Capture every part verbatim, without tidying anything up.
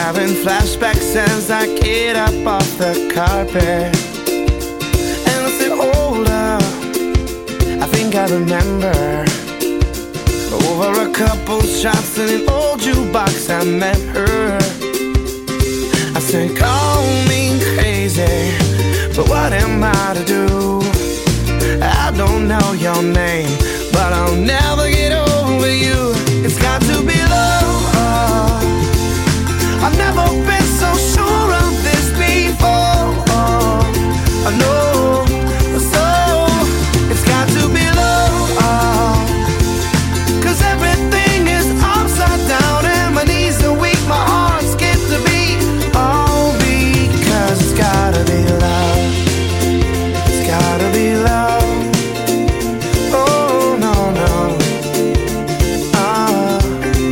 having flashbacks as I get up off the carpet. And I said, hold up, I think I remember. Over a couple shots in an old jukebox I met her. I said, call me crazy, but what am I to do? I don't know your name, but I'll never get over you. It's got to be love. I've never been so sure of this before. I know, so it's got to be love. Cause everything is upside down and my knees are weak, my heart skips a beat. All because it's gotta be love. It's gotta be love. Oh no, no. uh,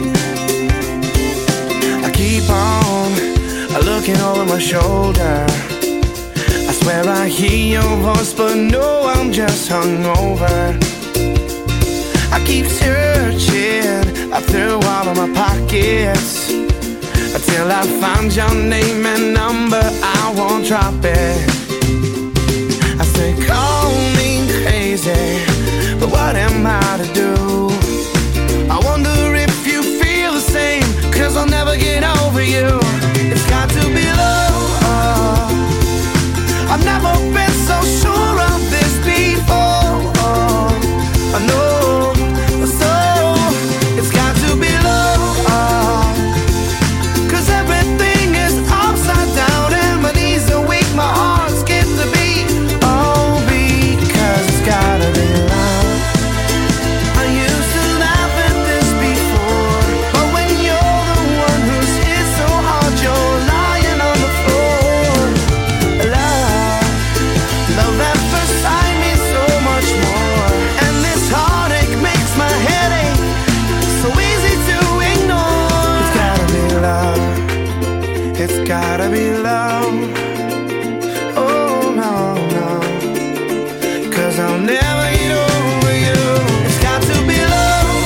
I keep on looking over my shoulder. I swear I hear your voice, but no, I'm just hungover. I keep searching up through all of my pockets until I find your name and number. I won't drop it. I say, call me crazy, but what am I to do? I wonder if you feel the same, cause I'll never get over you. It's got to be love. I've never been so sure of this before. I know, so it's got to be love. Cause everything is upside down and my knees are weak, my heart skips a beat. Oh, because it's gotta be love. I used to laugh at this before, but when you're the one who's hit so hard, you're lying on the floor. Love, love at first sight means so much more. And this heartache makes my head ache so easy to ignore. It's gotta be love. It's gotta be love. Oh no, no. Cause I'll never get over you. It's got to be love.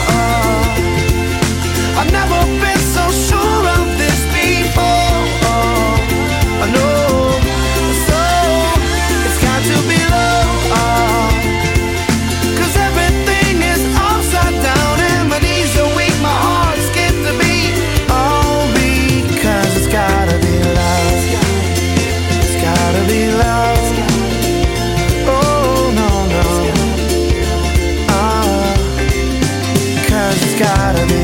I've never been so sure of this before. I know, so it's got to be love. Cause everything is upside down and my knees are weak, my heart skips a beat. Oh, because it's gotta be love. It's gotta be love. Oh no, no. Ah, cause it's gotta be